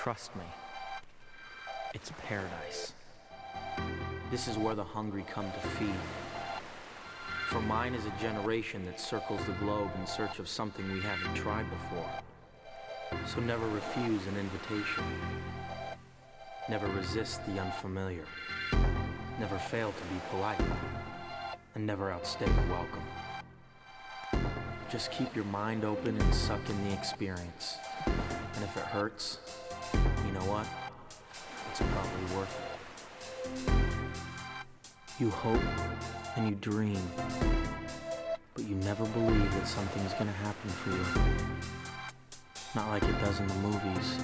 Trust me, it's paradise. This is where the hungry come to feed. For mine is a generation that circles the globe in search of something we haven't tried before. So never refuse an invitation. Never resist the unfamiliar. Never fail to be polite. And never outstay your welcome. Just keep your mind open and suck in the experience. And if it hurts, you know what? It's probably worth it. You hope and you dream, but you never believe that something's gonna happen for you. Not like it does in the movies.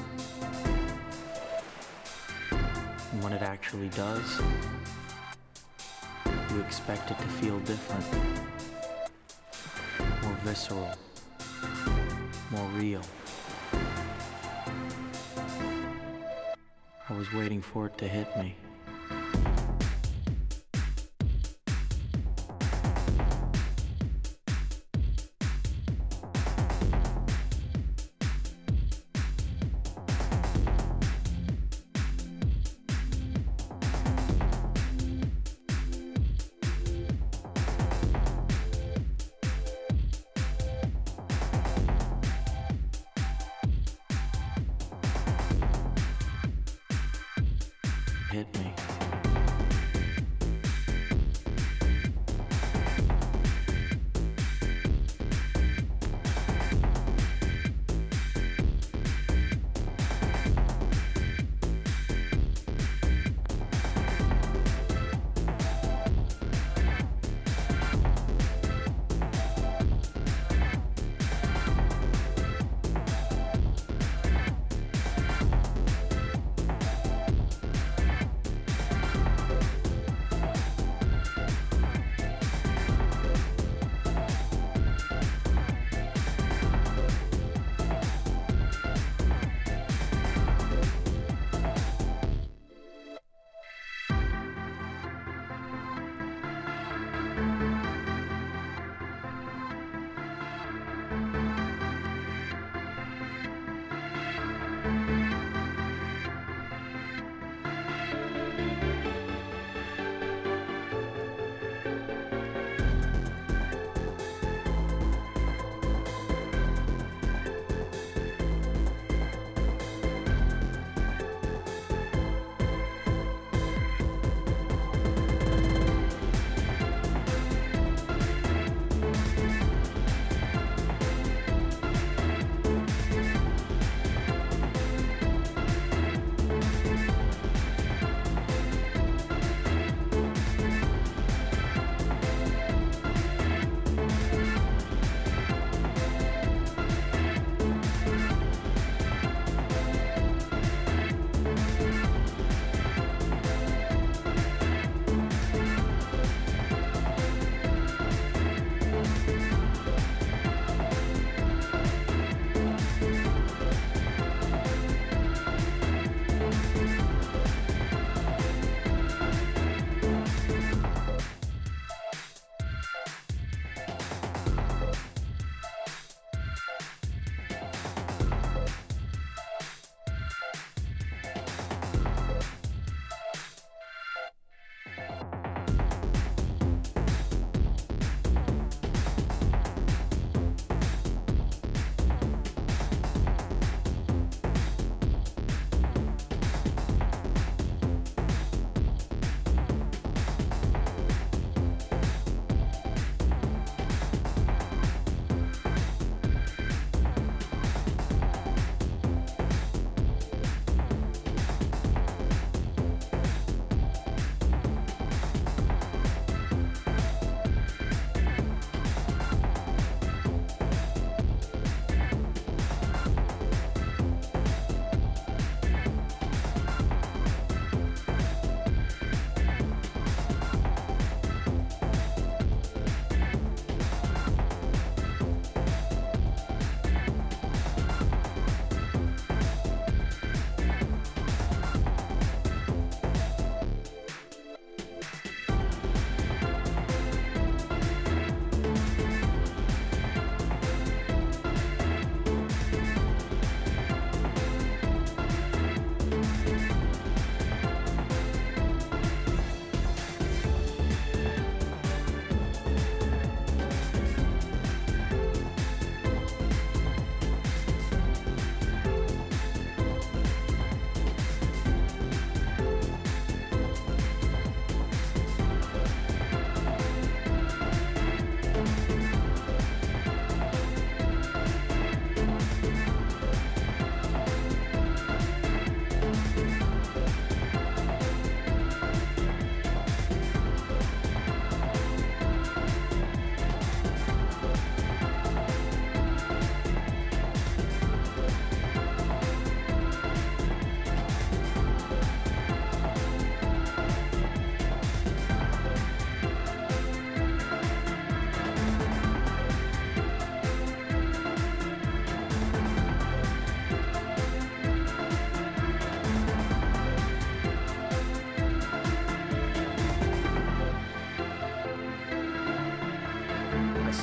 And when it actually does, you expect it to feel different. More visceral. More real. I was waiting for it to hit me. Hit me.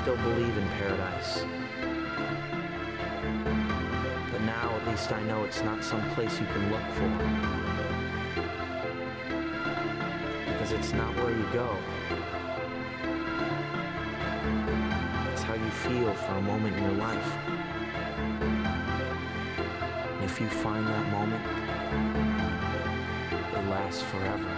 still believe in paradise. But now at least I know it's not some place you can look for. Because it's not where you go. It's how you feel for a moment in your life. And if you find that moment, it lasts forever.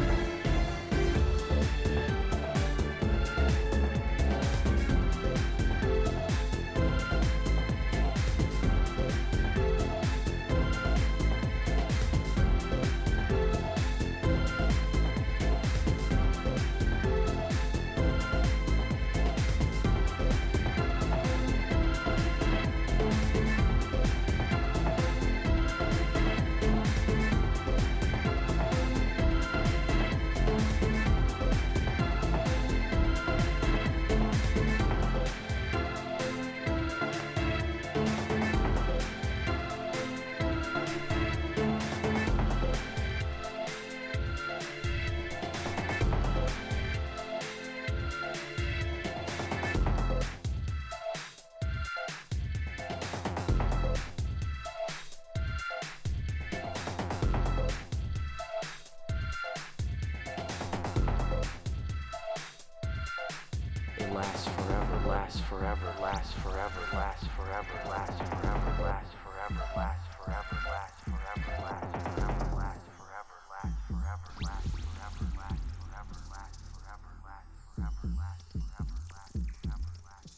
Lasts forever, lasts forever, lasts forever, lasts forever, lasts forever, lasts forever, lasts forever, lasts forever, lasts forever, lasts forever, lasts forever, lasts forever, lasts forever, lasts forever, lasts forever, lasts forever, lasts forever, lasts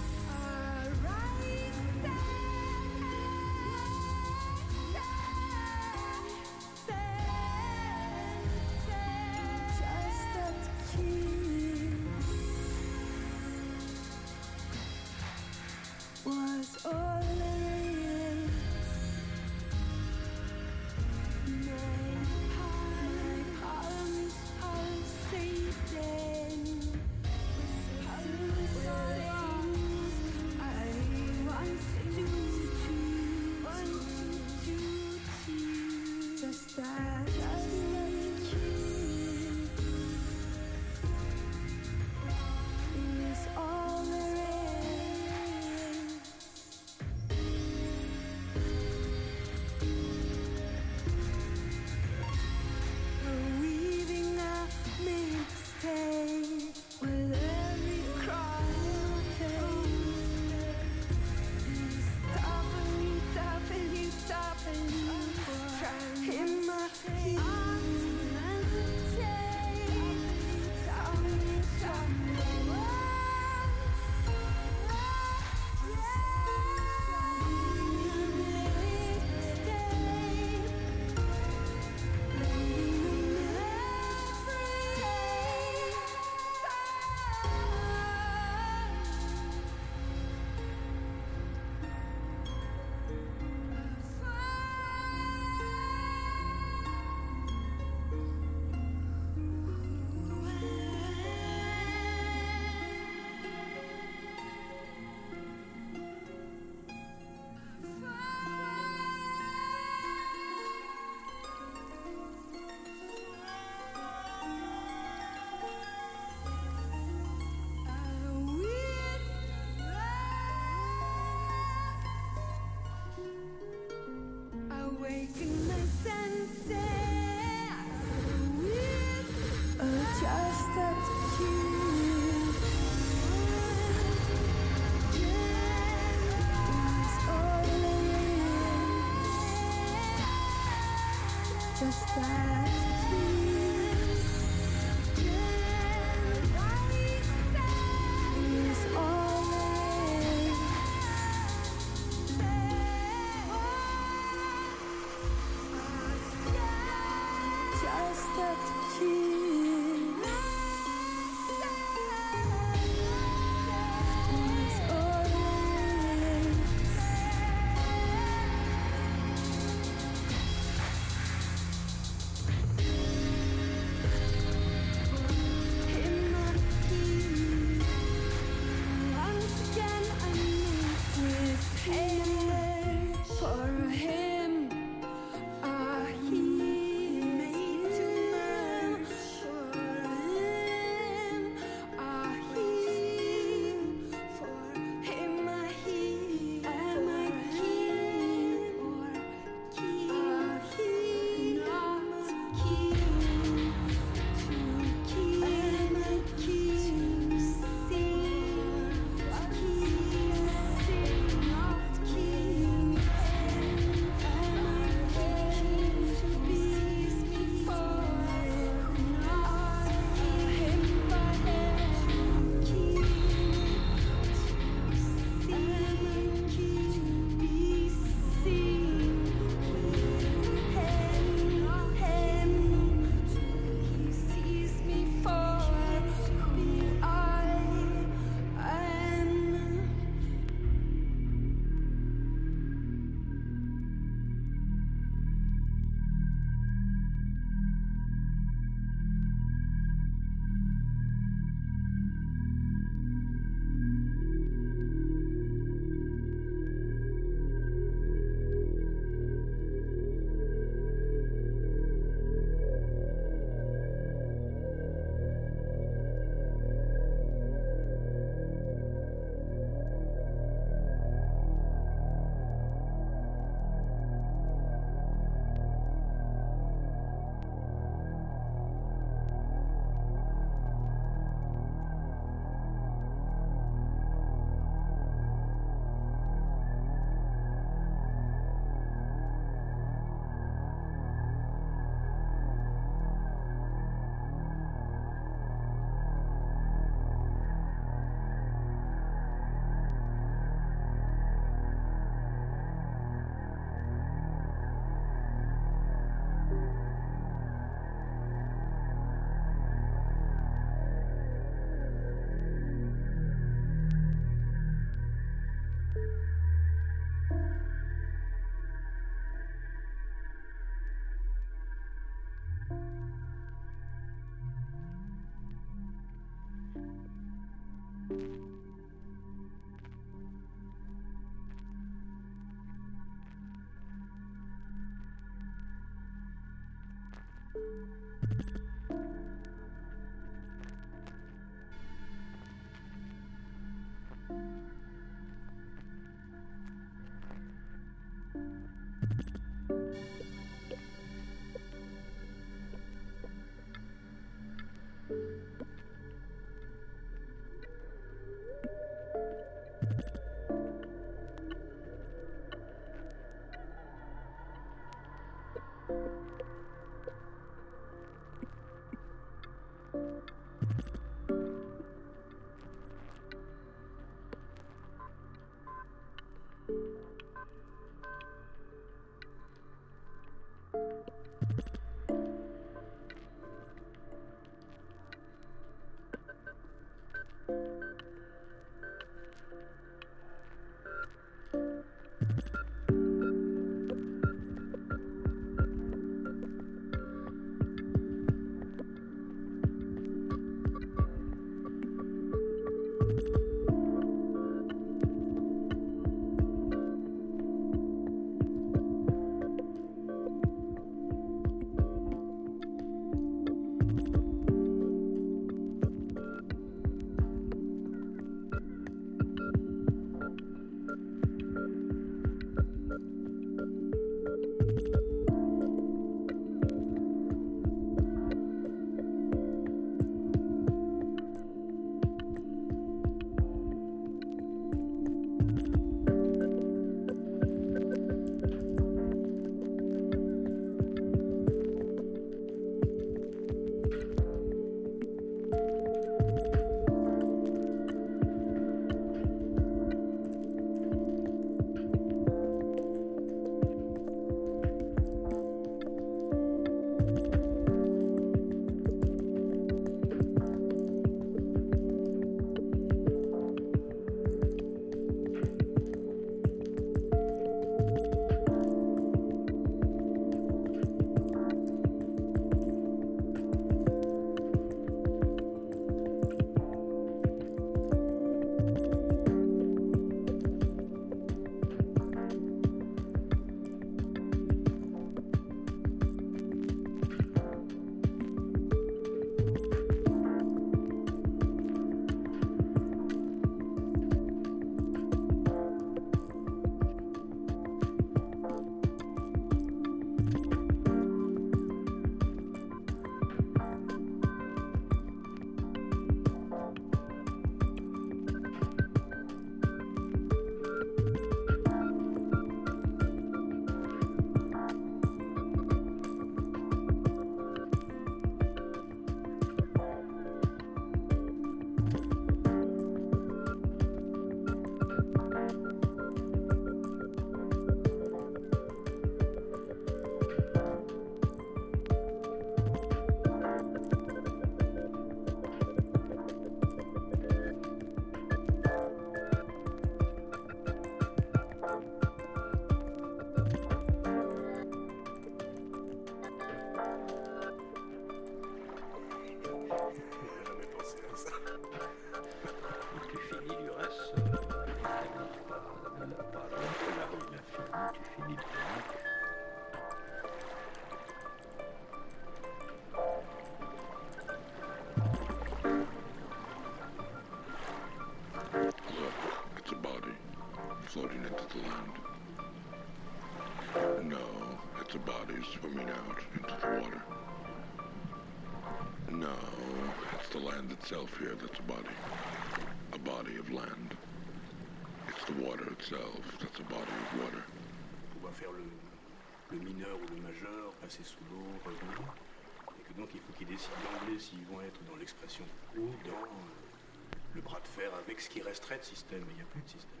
It's the land itself here that's a body of land. It's the water itself that's a body of water. Pouvoir faire le mineur ou le majeur, passer sous l'eau, revenir. Et que donc il faut qu'ils décident d'emblée s'ils vont être dans l'expression ou dans le bras de fer avec ce qui resterait de système. Mais il n'y a plus de système.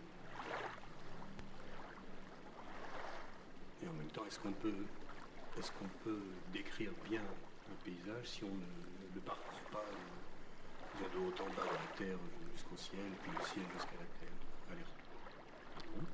Et en même temps, est-ce qu'on peut décrire bien un paysage si on ne le parcourt pas de haut en bas de la terre jusqu'au ciel, puis le ciel jusqu'à la terre. Aller-retour.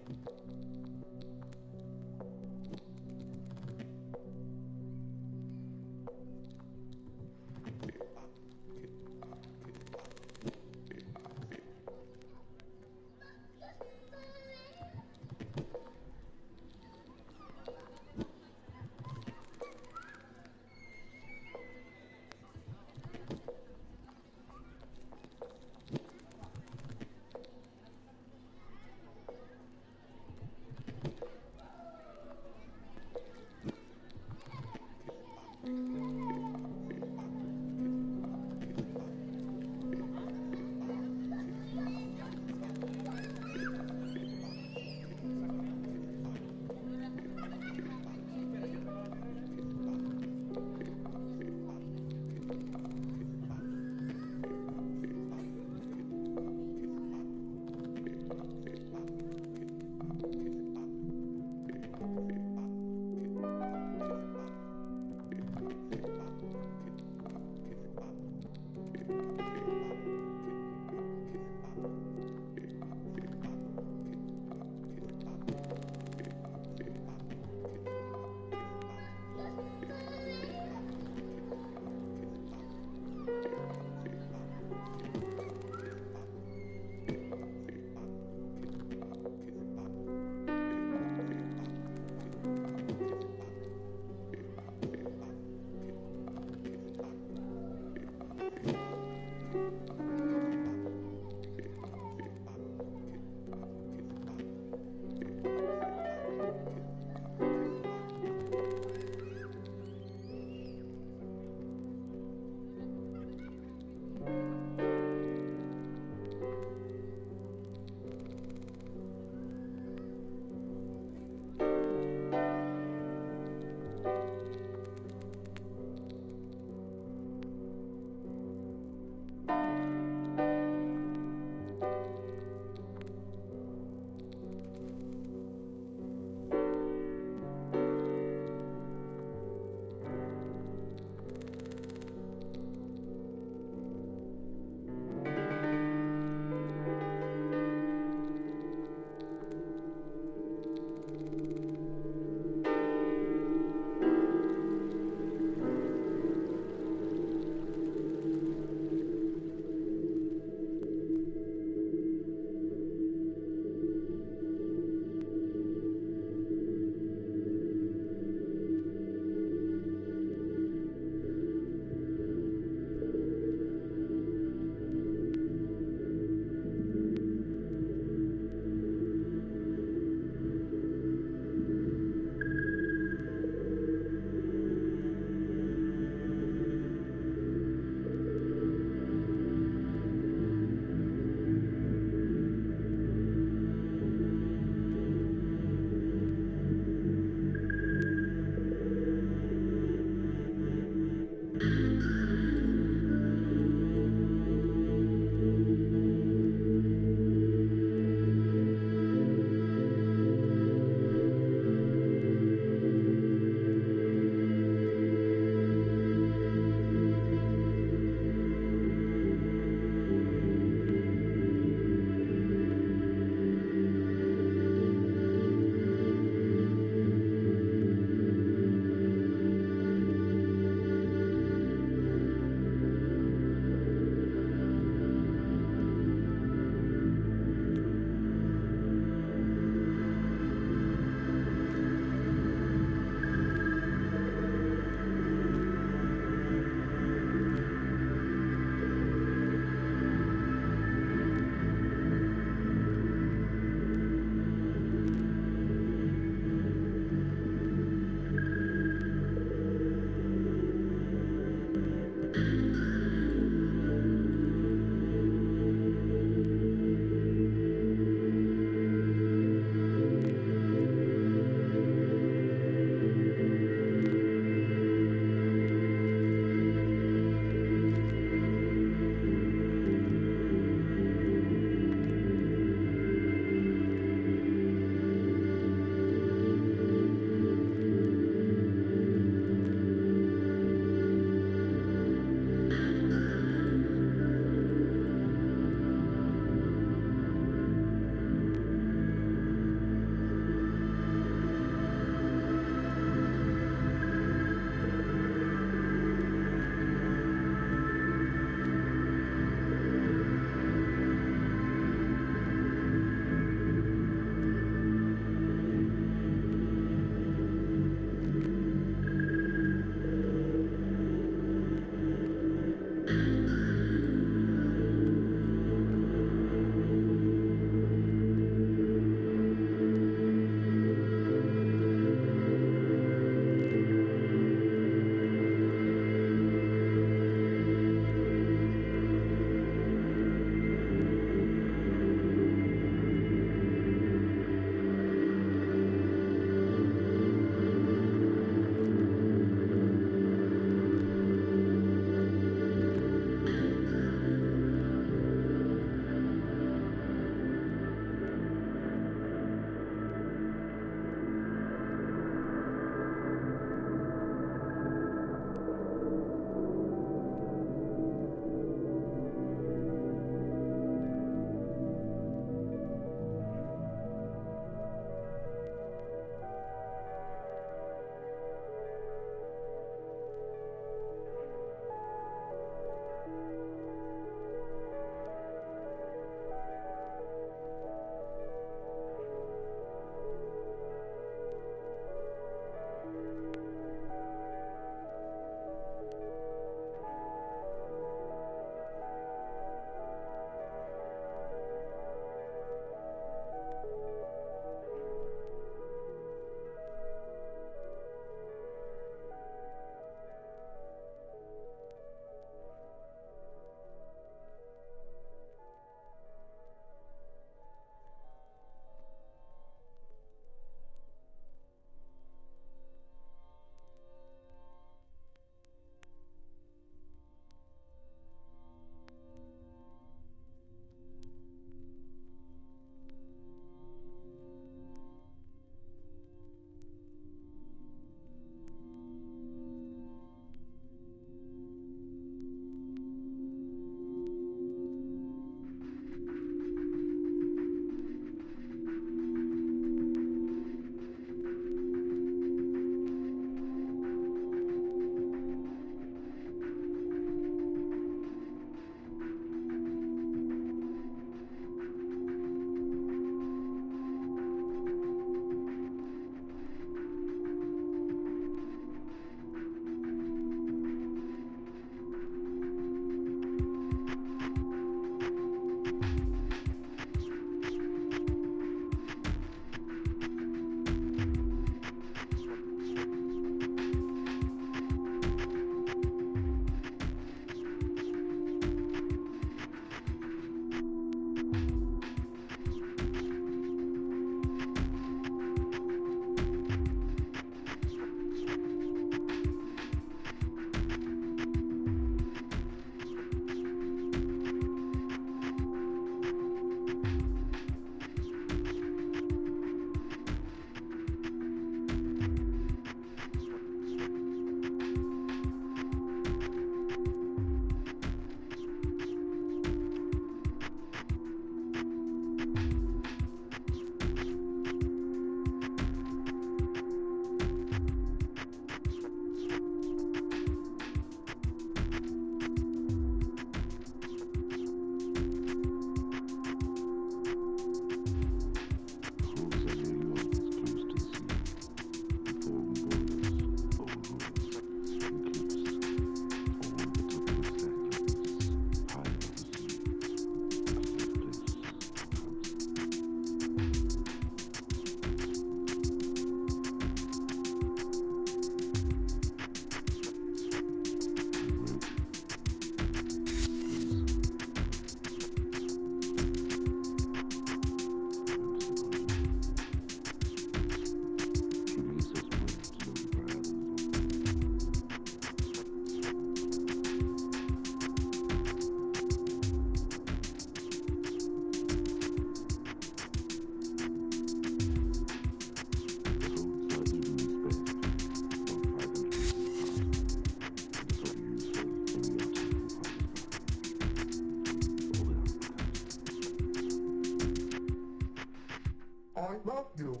Markville.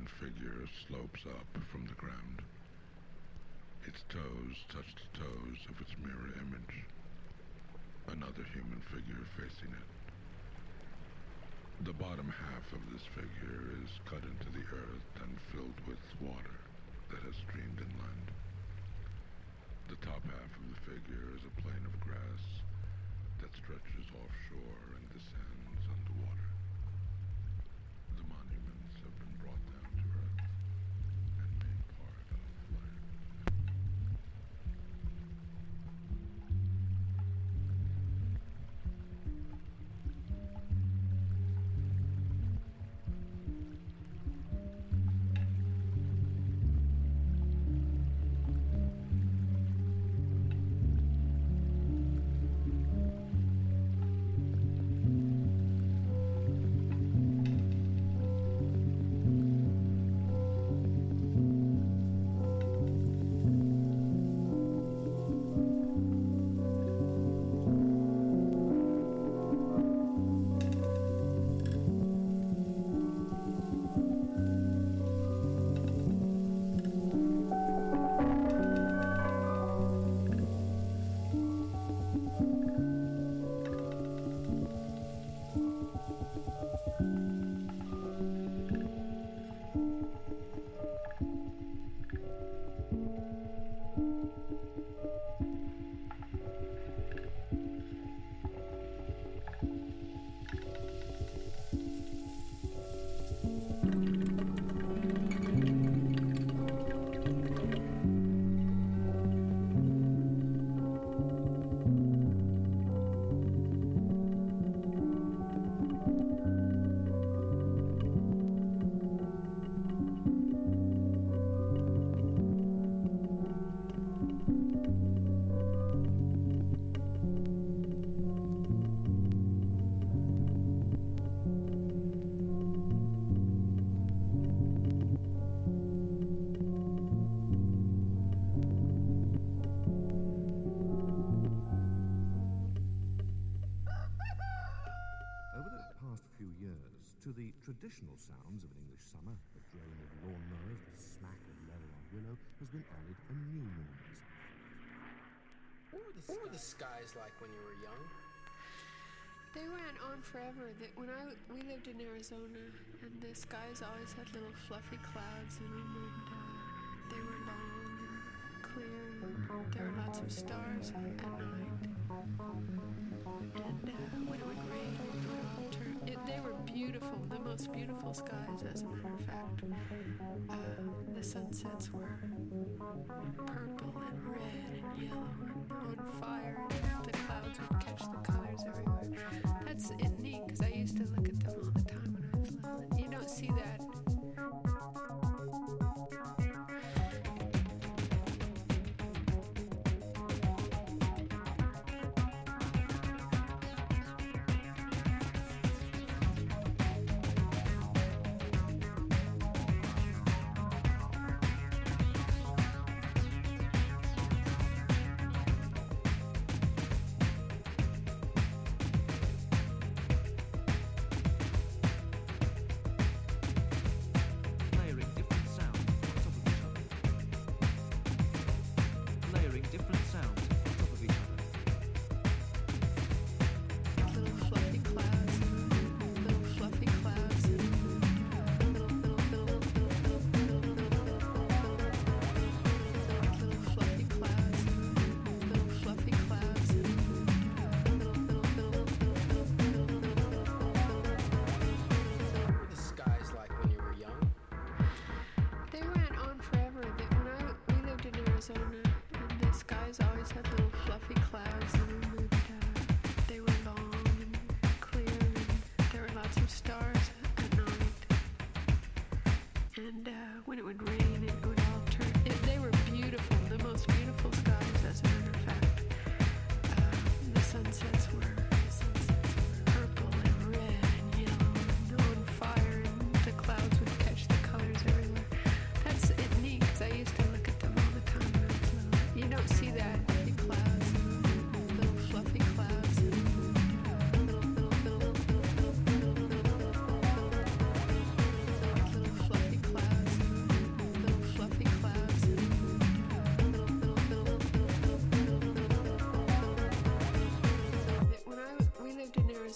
human figure slopes up from the ground. Its toes touch the toes of its mirror image. Another human figure facing it. The bottom half of this figure is cut into the earth and filled with water that has streamed inland. The top half of the figure is a plain of grass that stretches offshore and descends underwater. The monuments have been brought down to earth and made part of life. To the traditional sounds of an English summer, the drone of lawnmowers, the smack of leather on willow, has been added a new noise. What were the skies like when you were young? They went on forever. We lived in Arizona, and the skies always had little fluffy clouds in them, and they were long and clear, and there were lots of stars at night. And when it would rain, it would all turn. They were beautiful, the most beautiful skies, as a matter of fact. The sunsets were purple and red and yellow and on fire, and the clouds would catch the colors everywhere. That's neat, because I used to look at them all the time when I was little. You don't see that.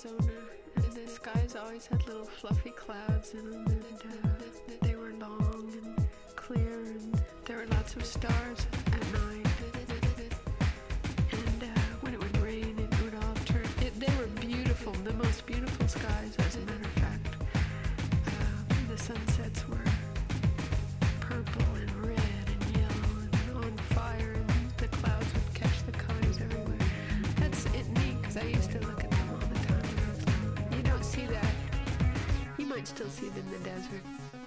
Arizona, and the skies always had little fluffy clouds in them, and they were long and clear, and there were lots of stars at night. And when it would rain, it would all turn. They were beautiful, the most beautiful skies, as a matter of fact. The sunsets were purple and red and yellow and on fire, and the clouds would catch the colors everywhere. That's it neat, because I used to look at them all the time. You don't see that. You might still see them in the desert.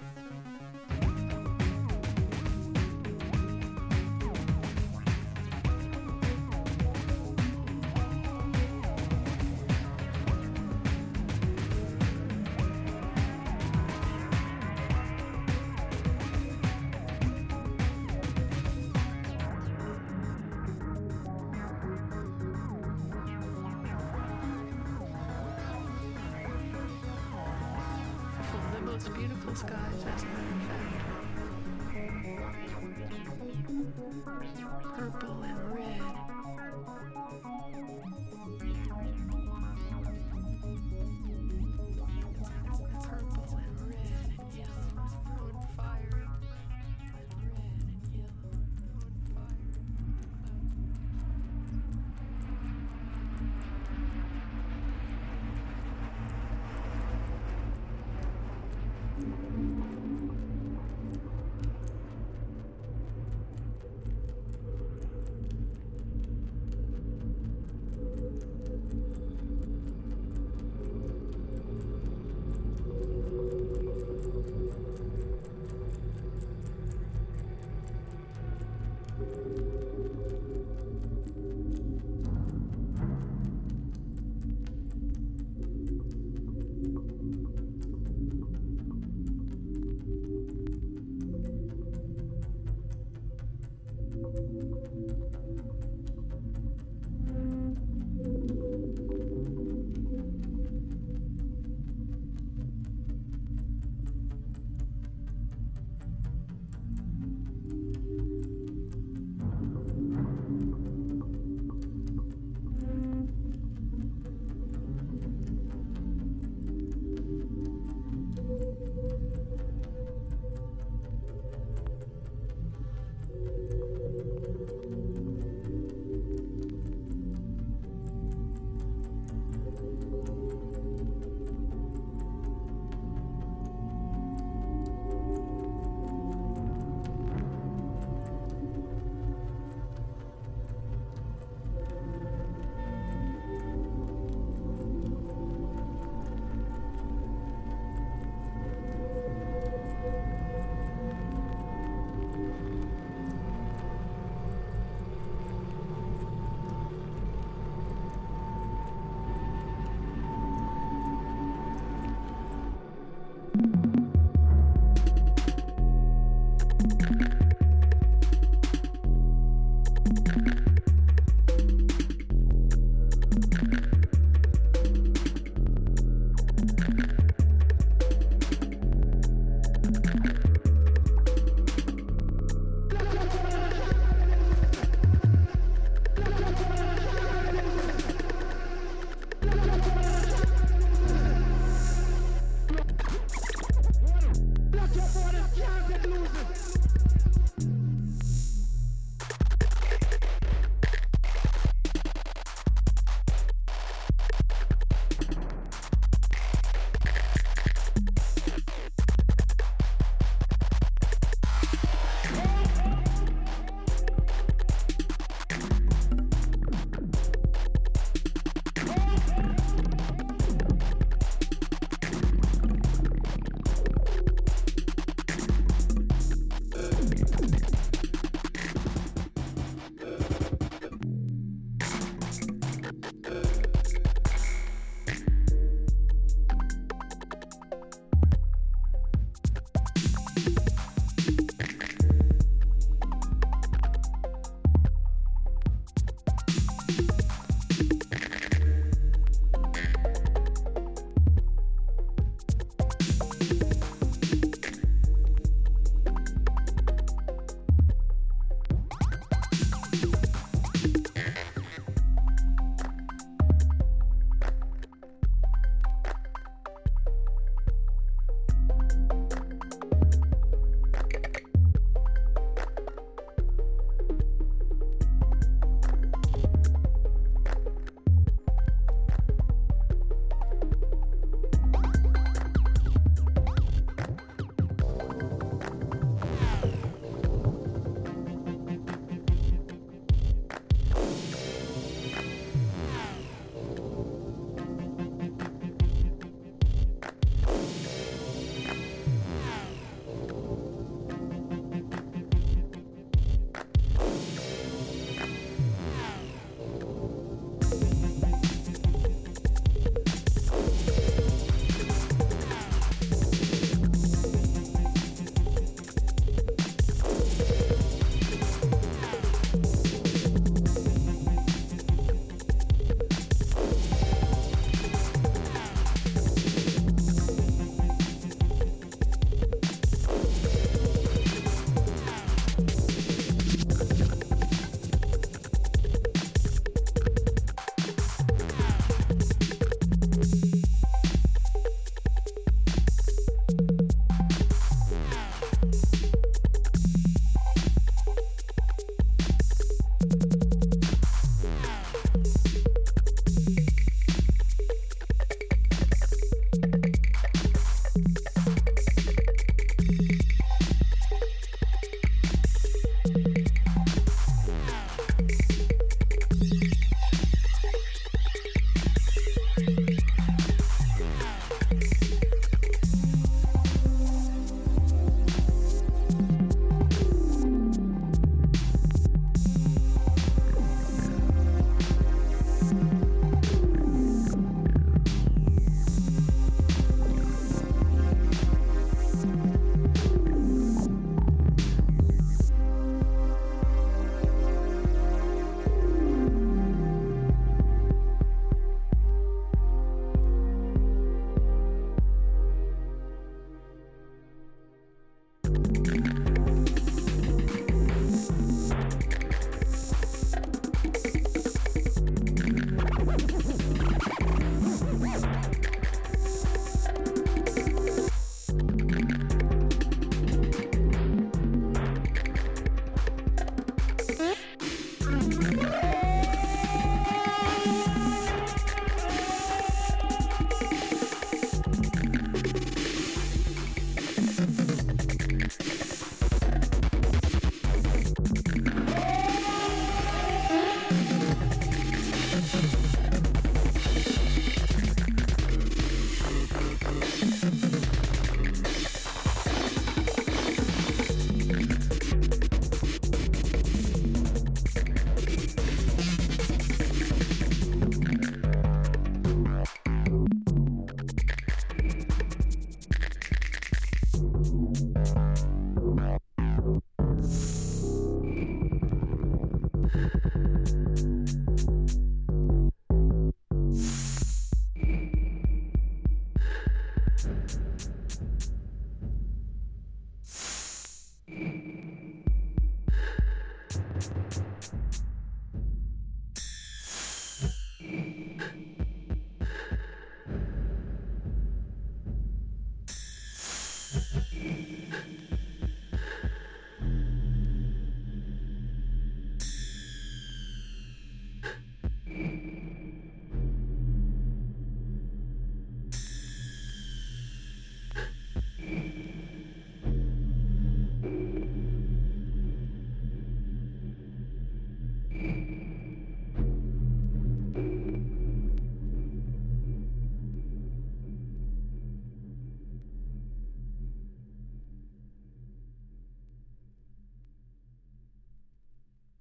Beautiful skies, as a matter of fact. Purple and red. Purple and red and yellow on fire. And red and yellow on fire.